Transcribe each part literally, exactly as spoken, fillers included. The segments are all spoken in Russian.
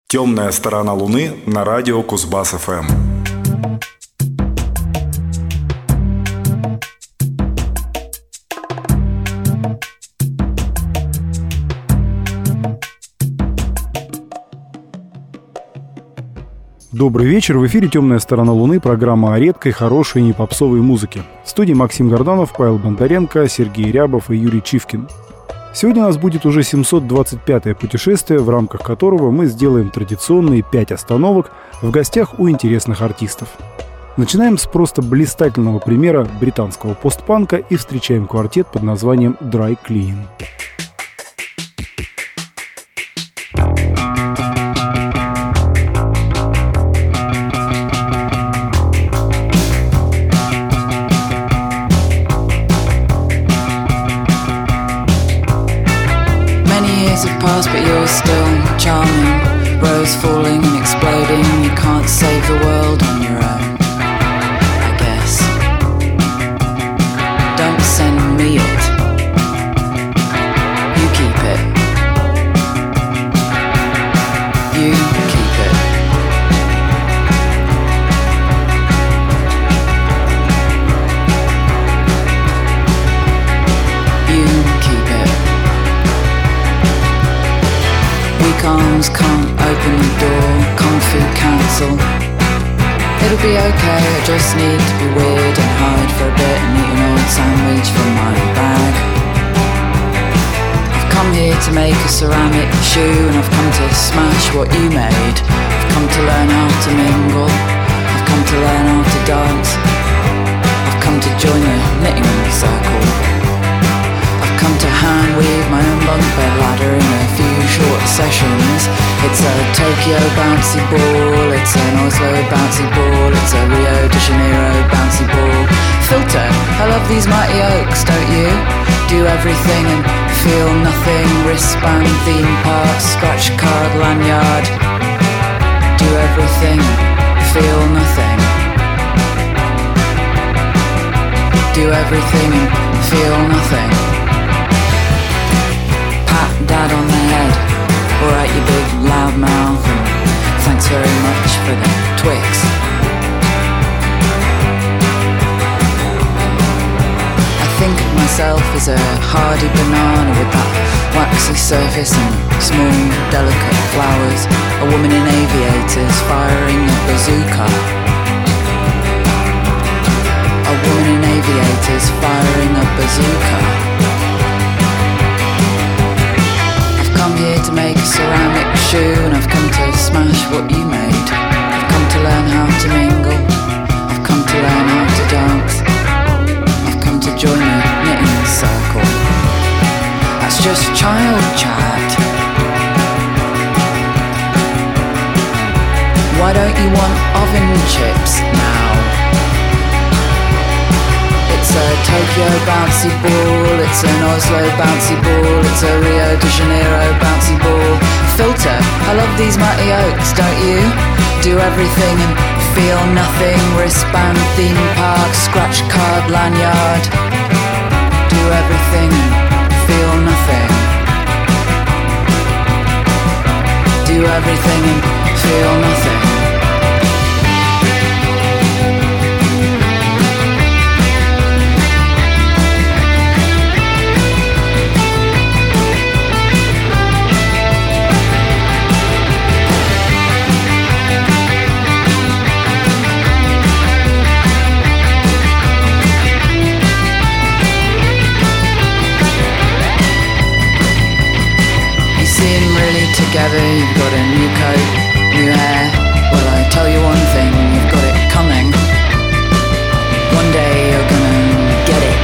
Темная сторона Луны на радио Кузбасс-ФМ. Добрый вечер, в эфире «Темная сторона Луны», программа о редкой, хорошей и не попсовой музыке. В студии Максим Горданов, Павел Бондаренко, Сергей Рябов и Юрий Чивкин. Сегодня у нас будет уже семьсот двадцать пятое путешествие, в рамках которого мы сделаем традиционные пять остановок в гостях у интересных артистов. Начинаем с просто блистательного примера британского постпанка и встречаем квартет под названием Dry Cleaning. But you're still charming. Rose falling and exploding. You can't save the world on your own, I guess. Don't send me it. You keep it. You keep it. You keep it. Weak arms can't open the door, Kung Fu Council. It'll be okay, I just need to be weird and hide for a bit and eat an old sandwich from my bag. I've come here to make a ceramic shoe and I've come to smash what you made. I've come to learn how to mingle, I've come to learn how to dance. I've come to join the knitting circle. Come to hand weave my own bunk bed ladder in a few short sessions. It's a Tokyo bouncy ball, it's an Oslo bouncy ball, it's a Rio de Janeiro bouncy ball. Filter, I love these mighty oaks, don't you? Do everything and feel nothing. Wristband, theme park, scratch card, lanyard. Do everything, feel nothing. Do everything and feel nothing. Dad on the head, alright you big loud mouth, and thanks very much for the Twix. I think of myself as a hardy banana with that waxy surface and small delicate flowers. A woman in aviators firing a bazooka. A woman in aviators firing a bazooka. Come here to make a ceramic shoe and I've come to smash what you made. I've come to learn how to mingle, I've come to learn how to dance. I've come to join a knitting circle. That's just child chat. Why don't you want oven chips now? It's a Tokyo bouncy ball, it's an Oslo bouncy ball, it's a Rio de Janeiro bouncy ball. Filter, I love these mighty oaks, don't you? Do everything and feel nothing. Wristband, theme park, scratch card, lanyard. Do everything and feel nothing. Do everything and feel nothing. Together, you've got a new coat, new hair. Well, I tell you one thing, you've got it coming. One day you're gonna get it.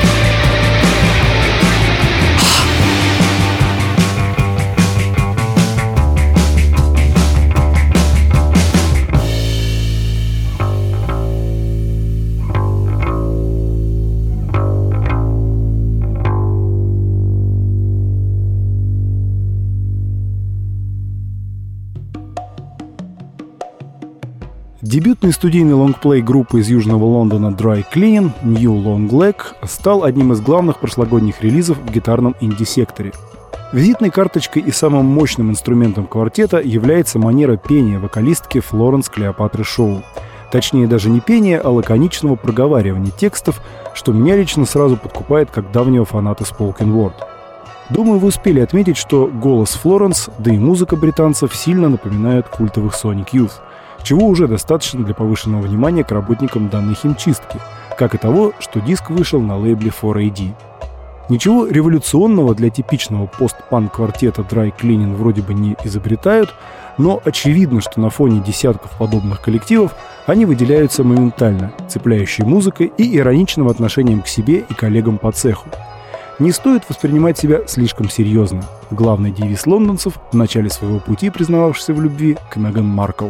Дебютный студийный лонгплей группы из Южного Лондона Dry Cleaning New Long Leg стал одним из главных прошлогодних релизов в гитарном инди-секторе. Визитной карточкой и самым мощным инструментом квартета является манера пения вокалистки Флоренс Клеопатры Шоу. Точнее, даже не пения, а лаконичного проговаривания текстов, что меня лично сразу подкупает как давнего фаната spoken word. Думаю, вы успели отметить, что голос Флоренс, да и музыка британцев сильно напоминают культовых Sonic Youth, чего уже достаточно для повышенного внимания к работникам данной химчистки, как и того, что диск вышел на лейбле фор эй ди. Ничего революционного для типичного пост-панк-квартета Dry Cleaning вроде бы не изобретают, но очевидно, что на фоне десятков подобных коллективов они выделяются моментально, цепляющей музыкой и ироничным отношением к себе и коллегам по цеху. Не стоит воспринимать себя слишком серьезно. Главный девиз лондонцев, в начале своего пути признававшийся в любви к Меган Маркл.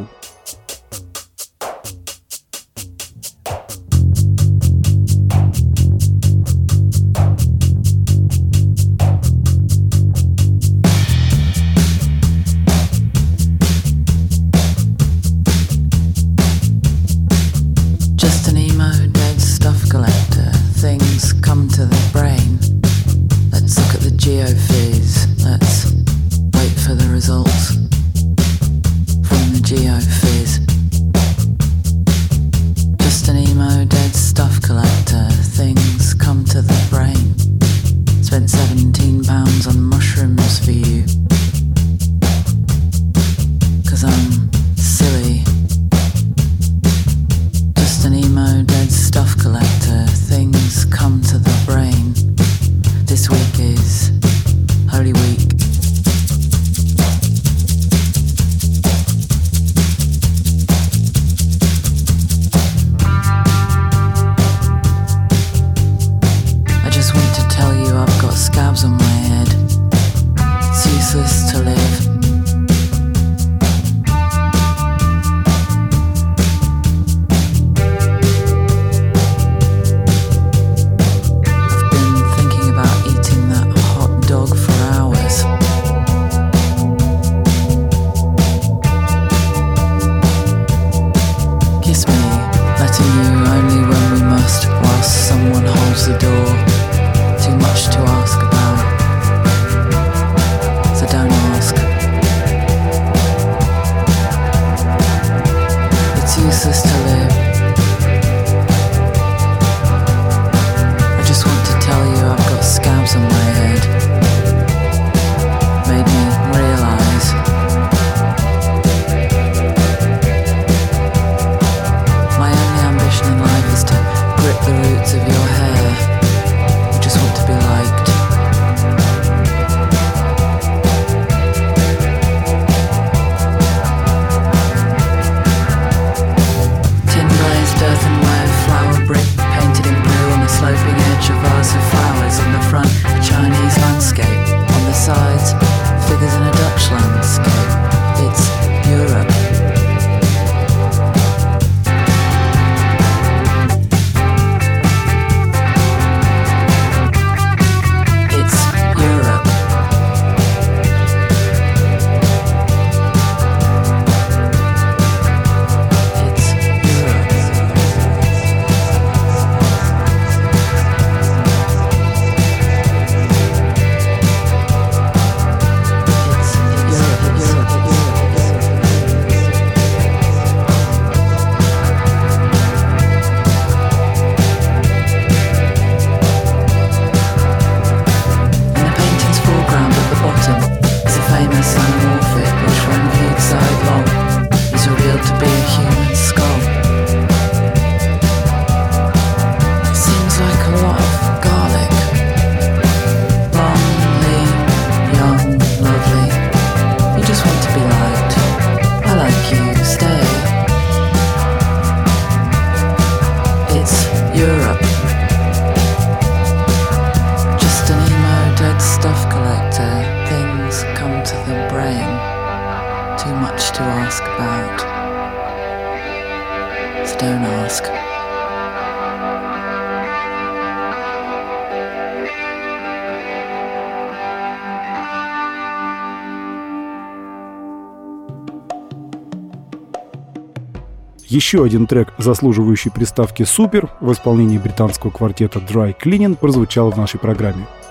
Еще один трек, заслуживающий приставки «Супер» в исполнении британского квартета Dry Cleaning, прозвучал в нашей программе.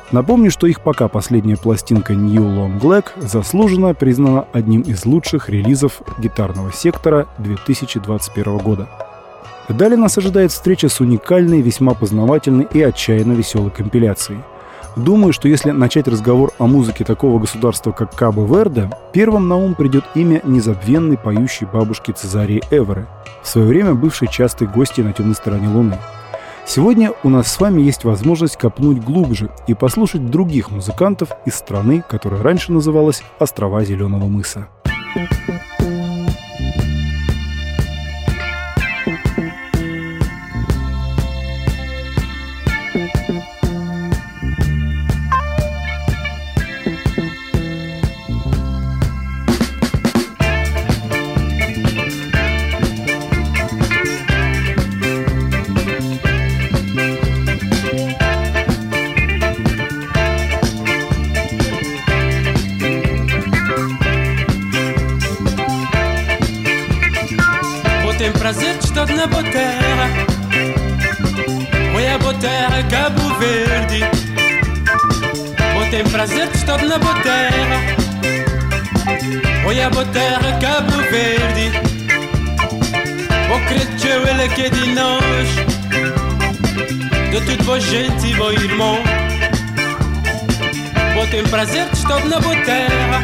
Напомню, что их пока последняя пластинка New Long Black заслуженно признана одним из лучших релизов гитарного сектора две тысячи двадцать первого года. Далее нас ожидает встреча с уникальной, весьма познавательной и отчаянно веселой компиляцией. Думаю, что если начать разговор о музыке такого государства, как Кабо-Верде, первым на ум придет имя незабвенной поющей бабушки Цезарии Эверы, в свое время бывшей частой гостьей на темной стороне Луны. Сегодня у нас с вами есть возможность копнуть глубже и послушать других музыкантов из страны, которая раньше называлась «Острова Зеленого мыса». Prazer de estar na boa terra, oi a boa terra Cabo Verde. Bom tem prazer de estar na boa terra, oi a boa terra Cabo Verde. Bom creio ele que é de nós, de tudo boa gente e bom irmão. Bom tem prazer de estar na boa terra,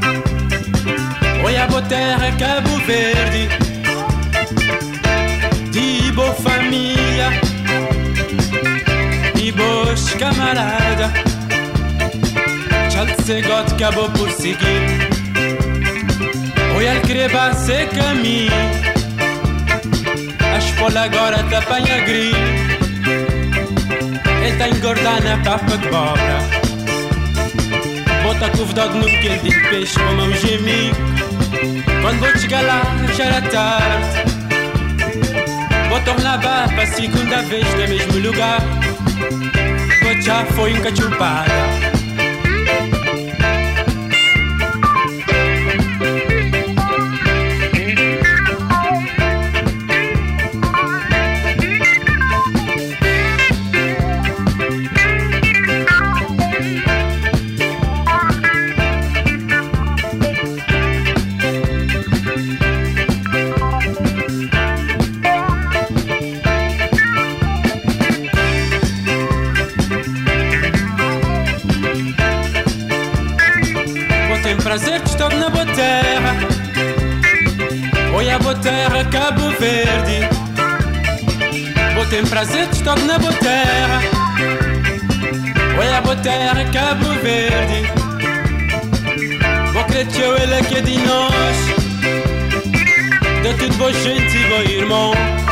oi a boa terra Cabo Verde. De boa família e boas camaradas, Chelsea God acabou por seguir. Oi, ele queria ser caminho, a espola agora te apanha grilo. Ele tá engordando a papa de bobra, bota couve-dog no que ele de peixe como um gemico. Quando vou chegar lá já era tarde, vou tornar lá para a segunda vez no mesmo lugar. Vou já foi encachupada. Prazer de estar na boa terra, oi a boa terra Cabo Verde. Vou ter prazer de estar na boa terra, oi a boa terra Cabo Verde. Vou crer que eu ele que é de nós, de tudo boa gente e bom irmão.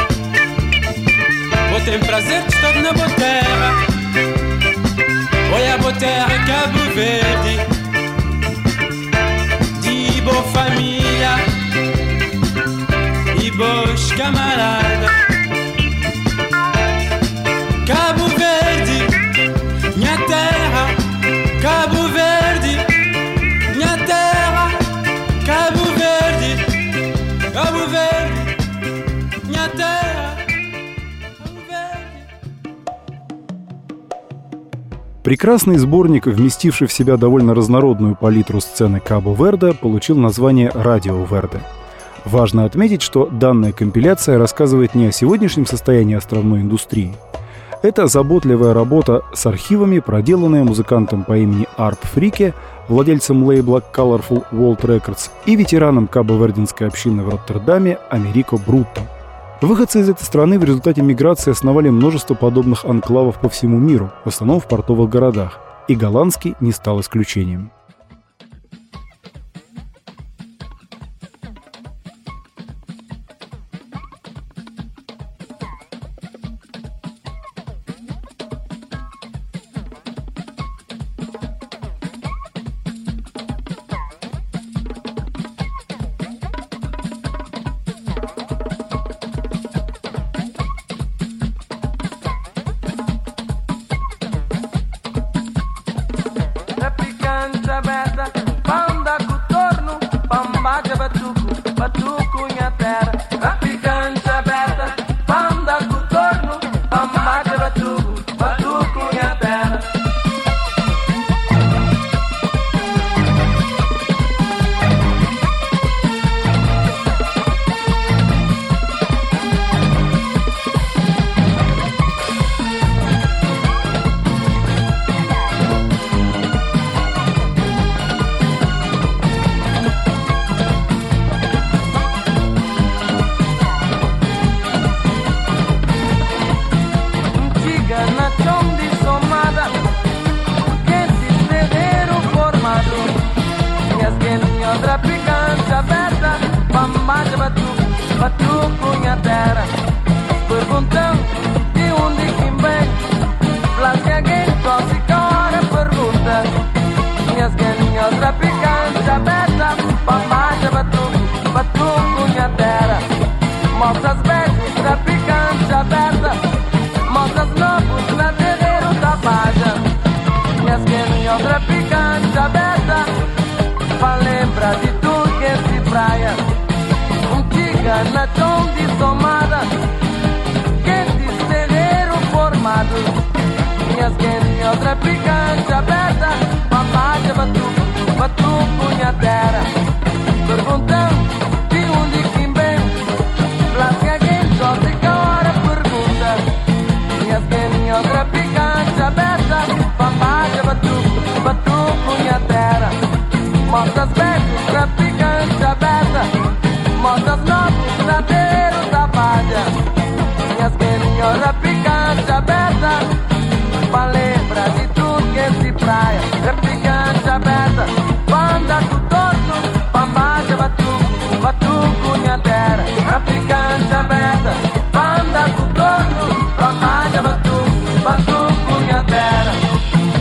Vou ter prazer de estar na boa terra, oi a boa terra Cabo Verde. Boa família e boas camaradas, Cabo Verde, minha terra, Cabo Verde, minha terra, Cabo Verde, Cabo Verde, minha terra, Cabo Verde. Прекрасный сборник, вместивший в себя довольно разнородную палитру сцены Кабо-Верде, получил название «Радио Верде». Важно отметить, что данная компиляция рассказывает не о сегодняшнем состоянии островной индустрии. Это заботливая работа с архивами, проделанная музыкантом по имени Арп Фрике, владельцем лейбла Colorful World Records, и ветераном кабо-верденской общины в Роттердаме Америко Брутто. Выходцы из этой страны в результате миграции основали множество подобных анклавов по всему миру, в основном в портовых городах, и голландский не стал исключением. na chão de tomada, quentes terreiro formado, minhas quentinhas repicante aberta, mamada batuco, batuco punhadeira, perguntando de onde que vem, lasca quem só se hora pergunta, minhas quentinhas repicante aberta, mamada batuco, batuco punhadeira, motas becos repicante aberta, motas novos nadeiros da palha, minhas quentinhas repicante aberta, pra lembrar de tudo que se praia, repicante aberta, banda do torto, pambaja batuco, batuco nhadeira, repicante aberta, banda do torto, pambaja batuco, batuco nhadeira.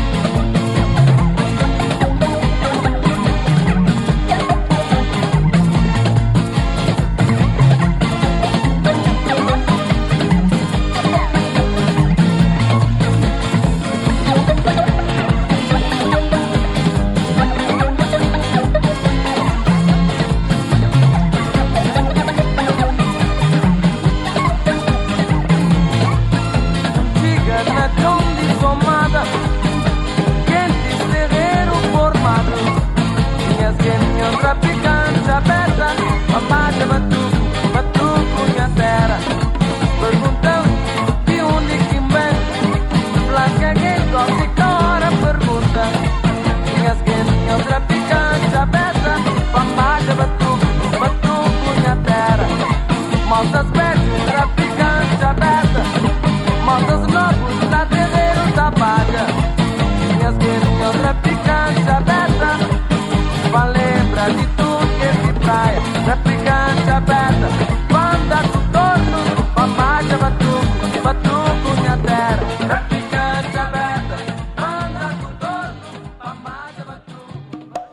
Repicante aberta, mamada batuco, batuco nhadeira, perguntando de onde que vem, lasca quem só se hora pergunta, minhas quentinhas repicante aberta, mamada batuco, batuco nhadeira, motas becos repicante aberta, motas novos na terreiro da palha, minhas quentinhas repicante aberta, pra lembrar de tudo que se praia, replicante aberta, banda do torno, mamada batuco, batuco nhadeira, replicante aberta, banda do torno, mamada batuco.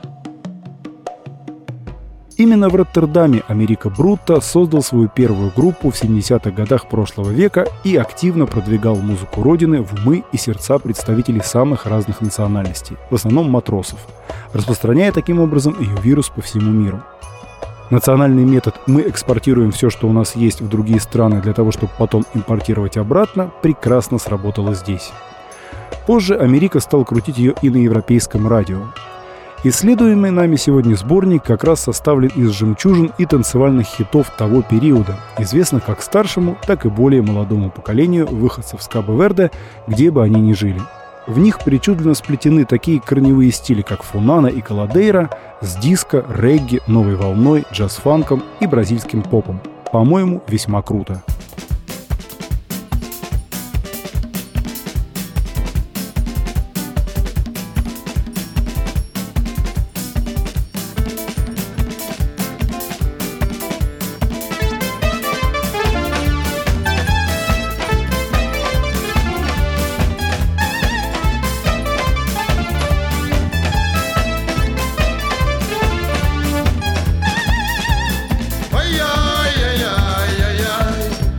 Именно в Роттердаме Америка Брутто создал свою первую группу в семидесятых годах прошлого века и активно продвигал музыку родины в умы и сердца представителей самых разных национальностей, в основном матросов, распространяя таким образом ее вирус по всему миру. Национальный метод «мы экспортируем все, что у нас есть, в другие страны для того, чтобы потом импортировать обратно» прекрасно сработало здесь. Позже Америка стал крутить ее и на европейском радио. Исследуемый нами сегодня сборник как раз составлен из жемчужин и танцевальных хитов того периода, известных как старшему, так и более молодому поколению выходцев с Кабо-Верде, где бы они ни жили. В них причудливо сплетены такие корневые стили, как фунана и каладейра, с диско, регги, новой волной, джаз-фанком и бразильским попом. По-моему, весьма круто. Ay, ay, ay, ay, ay, ay.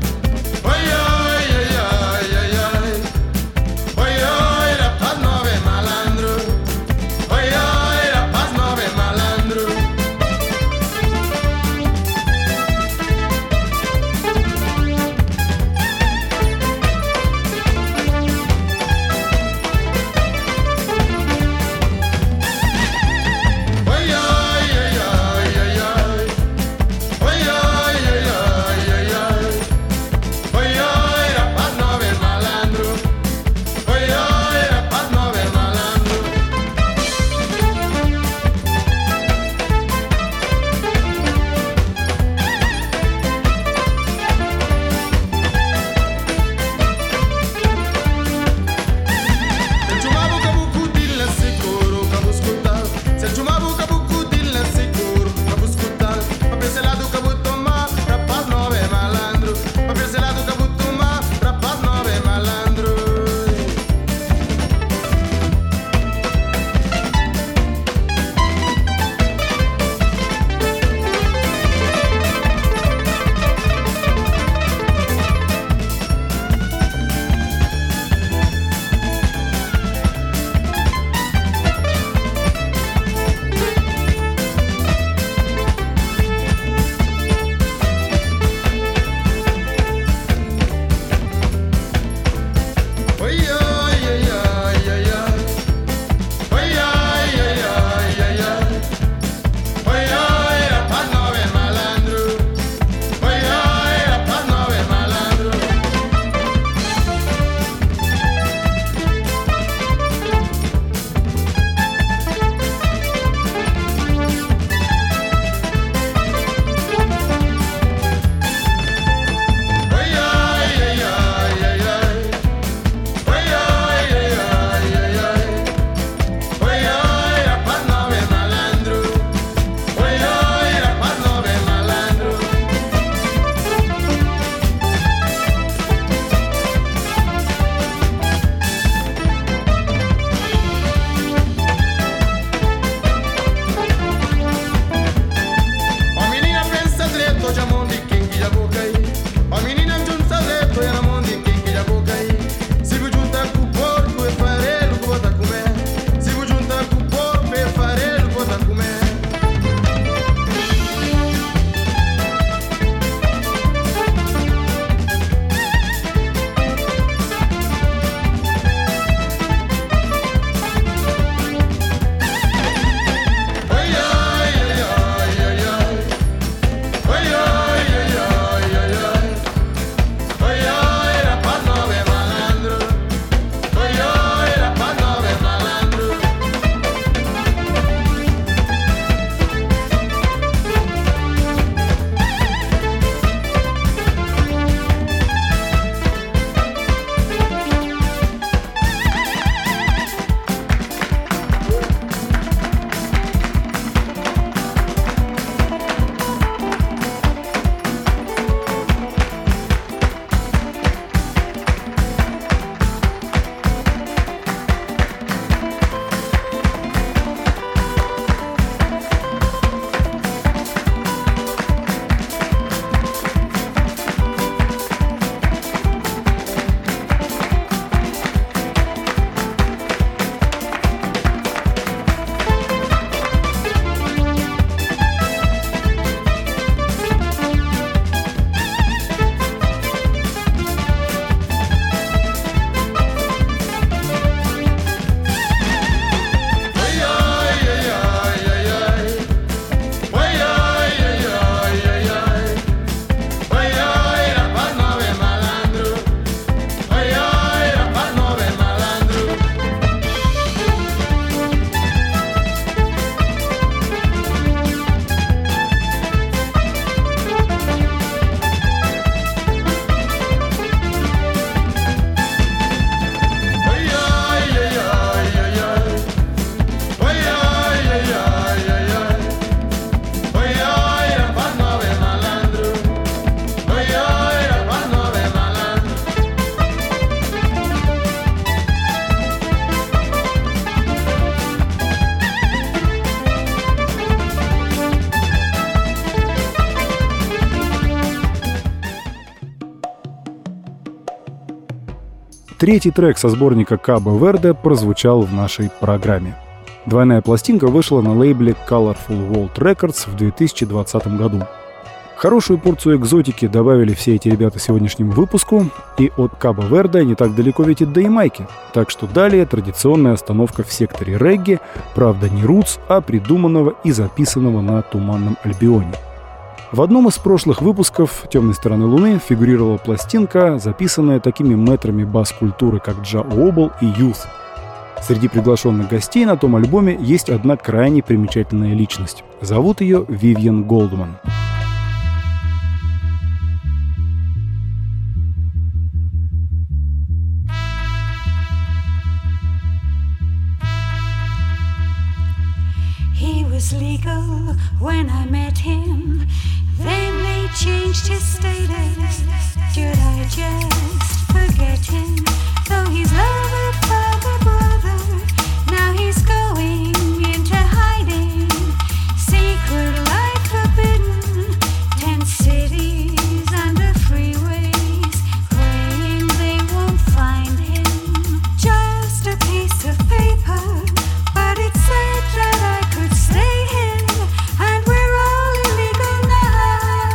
Третий трек со сборника Кабо Верде прозвучал в нашей программе. Двойная пластинка вышла на лейбле Colorful World Records в две тысячи двадцатом году. Хорошую порцию экзотики добавили все эти ребята сегодняшнему выпуску, и от Кабо Верде не так далеко ведь и до Ямайки. Так что далее традиционная остановка в секторе регги, правда не рутс, а придуманного и записанного на Туманном Альбионе. В одном из прошлых выпусков «Темной стороны Луны» фигурировала пластинка, записанная такими мэтрами бас-культуры, как Джа Уобл и Youth. Среди приглашенных гостей на том альбоме есть одна крайне примечательная личность. Зовут ее Вивьен Голдман. He was legal when I met him. Then they changed his status. Should I just forget him? Though he's loved by the brother, now he's going into hiding. Secret life forbidden. Ten cities under freeways, praying they won't find him. Just a piece of paper, but it said that I could stay here, and we're all illegal now.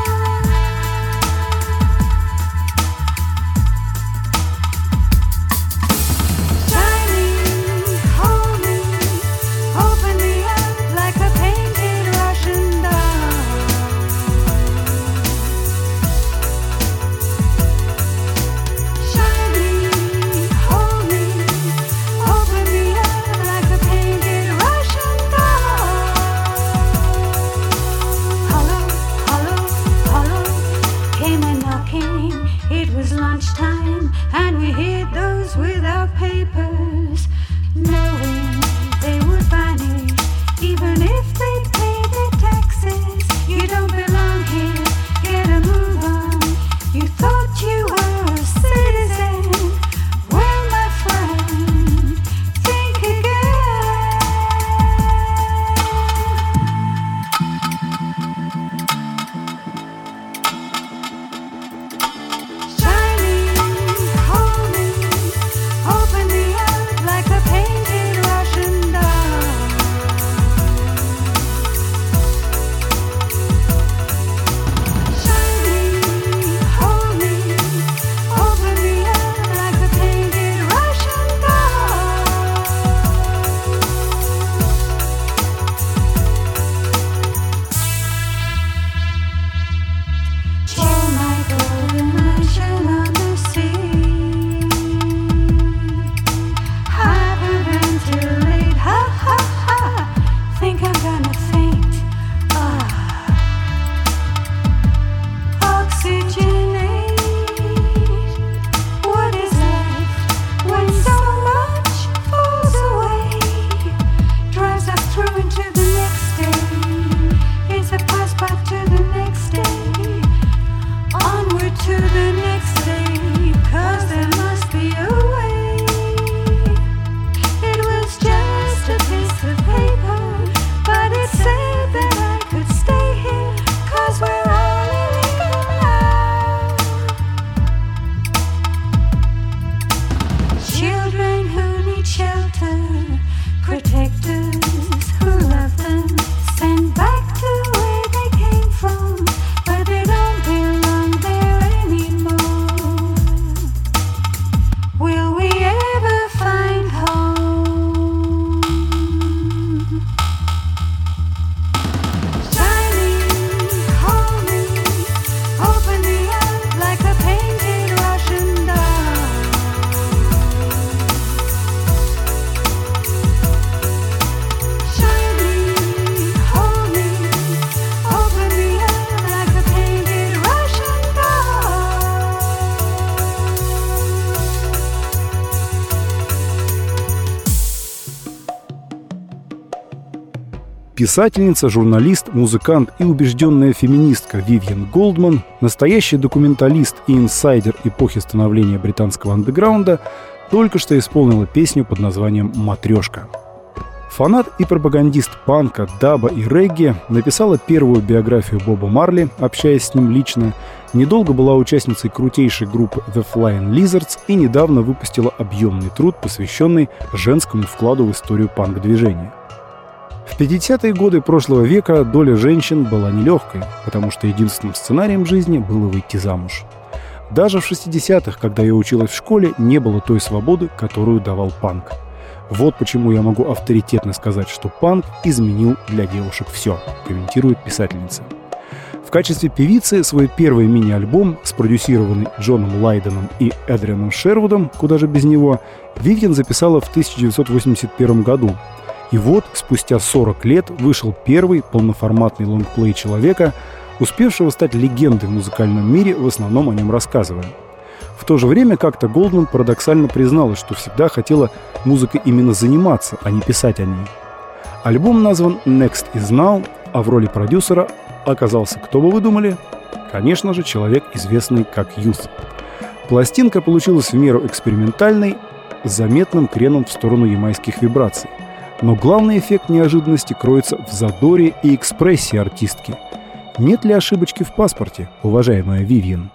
Shining, hold me, open me up like a painted Russian doll. Shining, hold me, open me up like a painted Russian doll. Hello, hello, hello, came a knocking. It was lunchtime, and we hid those without papers, knowing they would vanish, even if they pay their taxes. You don't belong here, get a move on. You thought you were a citizen. Well, my friend, think again. Shining, hold me, open me up like a painted Russian doll. Shining, hold me, open me up like a painted Russian doll. Chill my golden mansion on the sea. Hyperventilate, ha ha ha. Think I'm gonna faint. Ah. Oxygenate. What is left when so much falls away? Drives us through into the next day. It's a passport to the next day. Onward to the next day, 'cause there must be a way. It was just a piece of paper, but it said that I could stay here, 'cause we're all illegal now. Children who need shelter, protectors who love them, sent back to where they came from, but they don't belong there anymore. Will we ever find home? Shining, hold me, open me up like a painted Russian doll. Shining, hold me, open me up like a painted Russian doll. Писательница, журналист, музыкант и убежденная феминистка Вивьен Голдман, настоящий документалист и инсайдер эпохи становления британского андеграунда, только что исполнила песню под названием «Матрешка». Фанат и пропагандист панка, даба и регги, написала первую биографию Боба Марли, общаясь с ним лично, недолго была участницей крутейшей группы The Flying Lizards и недавно выпустила объемный труд, посвященный женскому вкладу в историю панк-движения. В пятидесятые годы прошлого века доля женщин была нелегкой, потому что единственным сценарием жизни было выйти замуж. Даже в шестидесятых, когда я училась в школе, не было той свободы, которую давал панк. Вот почему я могу авторитетно сказать, что панк изменил для девушек все, комментирует писательница. В качестве певицы свой первый мини-альбом, спродюсированный Джоном Лайденом и Эдрианом Шервудом, куда же без него, Вивьен записала в тысяча девятьсот восемьдесят первом году. И вот, спустя сорок лет, вышел первый полноформатный лонгплей человека, успевшего стать легендой в музыкальном мире, в основном о нем рассказывая. В то же время как-то Голдман парадоксально призналась, что всегда хотела музыкой именно заниматься, а не писать о ней. Альбом назван «Next is Now», а в роли продюсера оказался, кто бы вы думали? Конечно же, человек, известный как Youth. Пластинка получилась в меру экспериментальной, с заметным креном в сторону ямайских вибраций. Но главный эффект неожиданности кроется в задоре и экспрессии артистки. Нет ли ошибочки в паспорте, уважаемая Вивьен?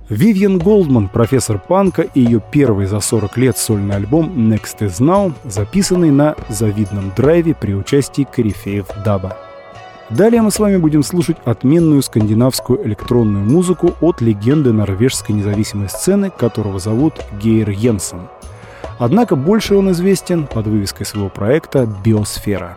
Вивьен Голдман, профессор панка, и ее первый за сорок лет сольный альбом «Next is Now», записанный на завидном драйве при участии корифеев даба. Далее мы с вами будем слушать отменную скандинавскую электронную музыку от легенды норвежской независимой сцены, которого зовут Гейр Йенсен. Однако больше он известен под вывеской своего проекта «Биосфера».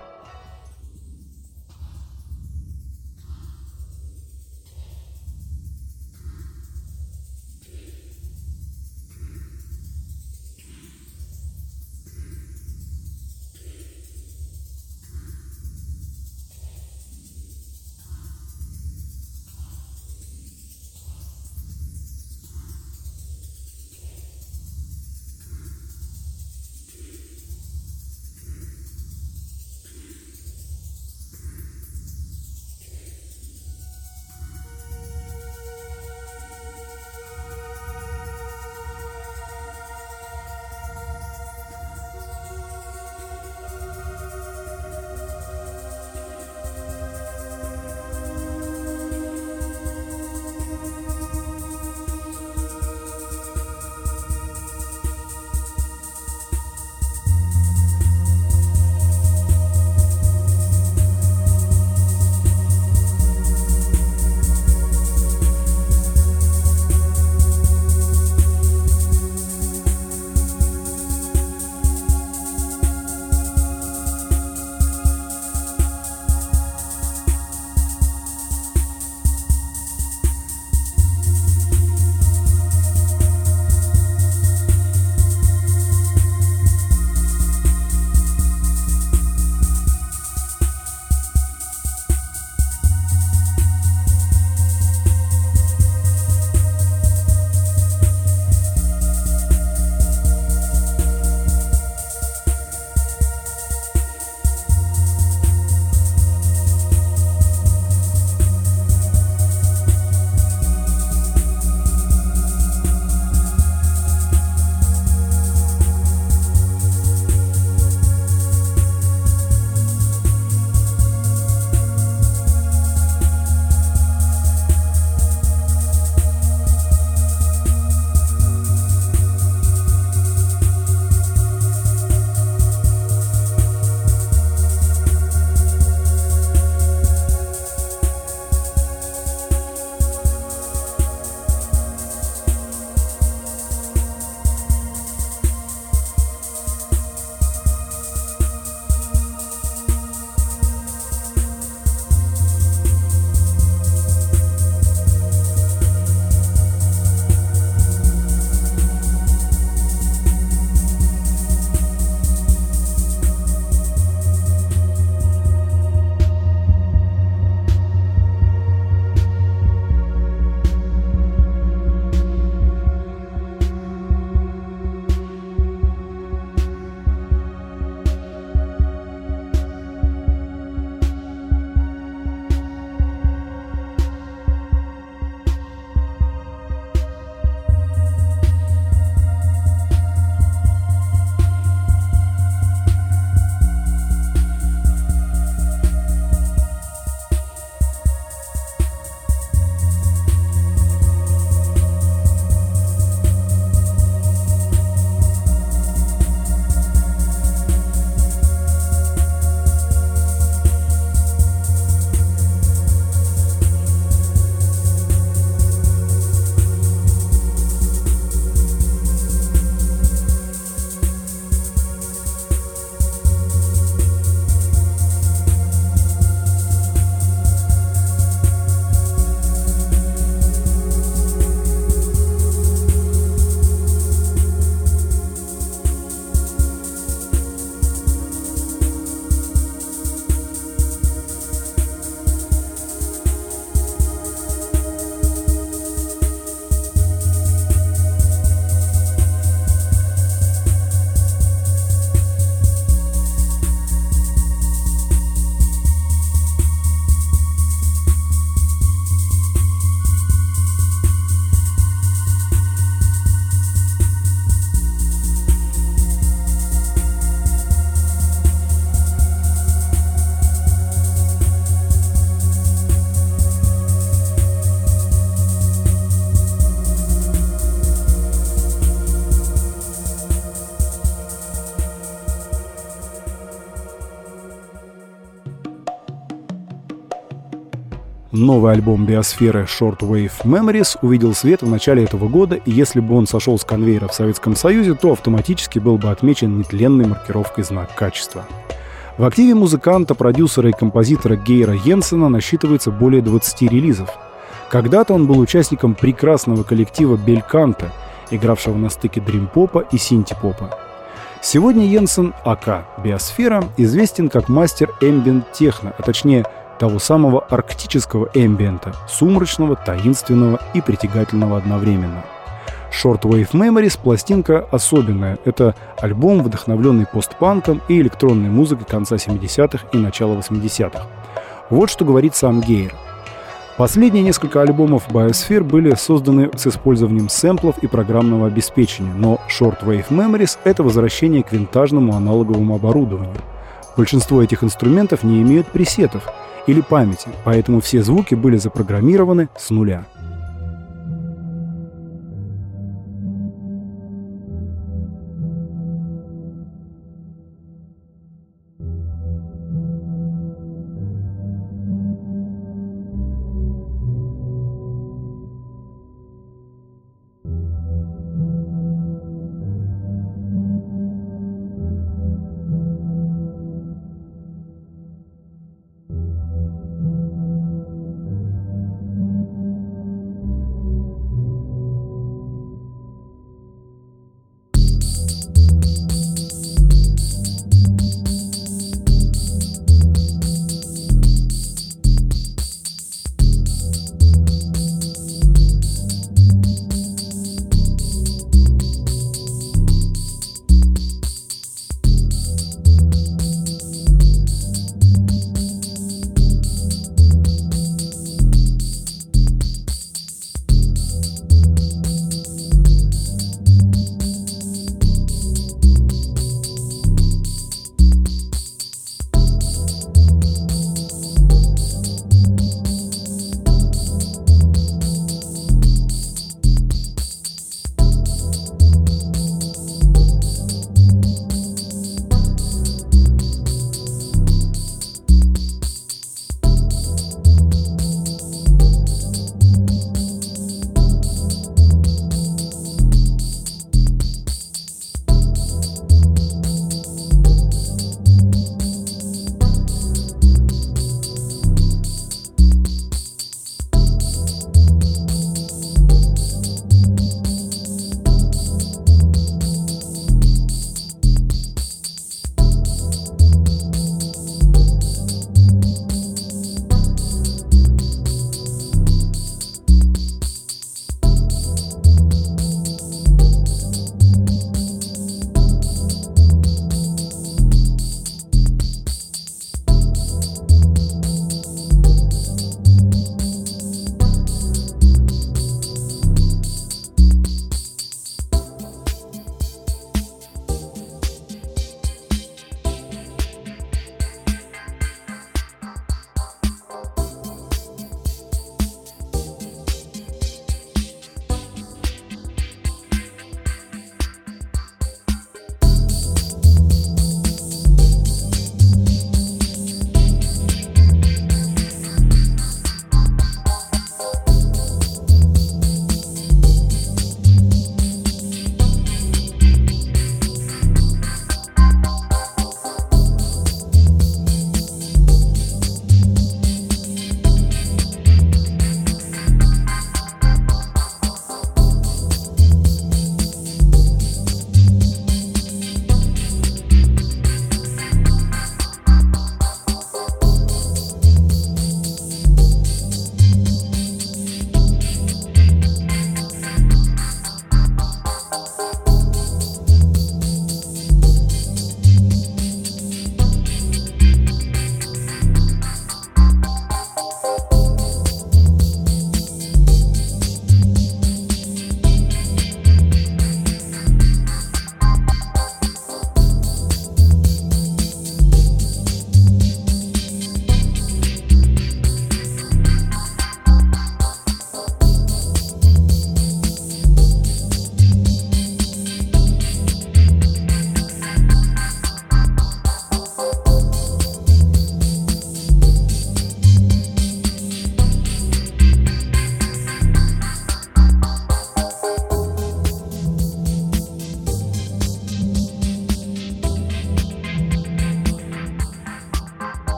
Новый альбом биосферы Shortwave Memories увидел свет в начале этого года, и если бы он сошел с конвейера в Советском Союзе, то автоматически был бы отмечен нетленной маркировкой «Знак качества». В активе музыканта, продюсера и композитора Гейра Йенсена насчитывается более двадцати релизов. Когда-то он был участником прекрасного коллектива Бельканта, игравшего на стыке дрим-попа и синти-попа. Сегодня Йенсен, ака Биосфера, известен как мастер эмбиент-техно, а точнее того самого арктического эмбиента, сумрачного, таинственного и притягательного одновременно. Shortwave Memories — пластинка особенная. Это альбом, вдохновленный постпанком и электронной музыкой конца семидесятых и начала восьмидесятых. Вот что говорит сам Гейр. Последние несколько альбомов Biosphere были созданы с использованием сэмплов и программного обеспечения, но Shortwave Memories — это возвращение к винтажному аналоговому оборудованию. Большинство этих инструментов не имеют пресетов или памяти, поэтому все звуки были запрограммированы с нуля.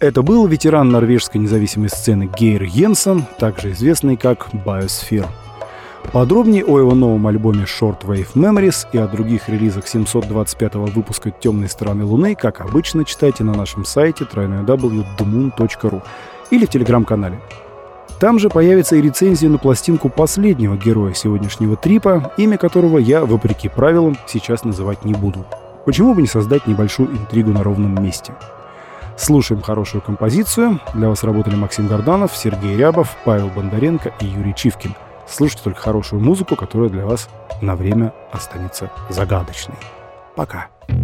Это был ветеран норвежской независимой сцены Гейр Йенсен, также известный как Biosphere. Подробнее о его новом альбоме Shortwave Memories и о других релизах семьсот двадцать пятого выпуска «Темной стороны Луны», как обычно, читайте на нашем сайте дабл ю дабл ю дабл ю точка ди мун точка ру или в телеграм-канале. Там же появится и рецензия на пластинку последнего героя сегодняшнего трипа, имя которого я, вопреки правилам, сейчас называть не буду. Почему бы не создать небольшую интригу на ровном месте? Слушаем хорошую композицию. Для вас работали Максим Горданов, Сергей Рябов, Павел Бондаренко и Юрий Чивкин. Слушайте только хорошую музыку, которая для вас на время останется загадочной. Пока.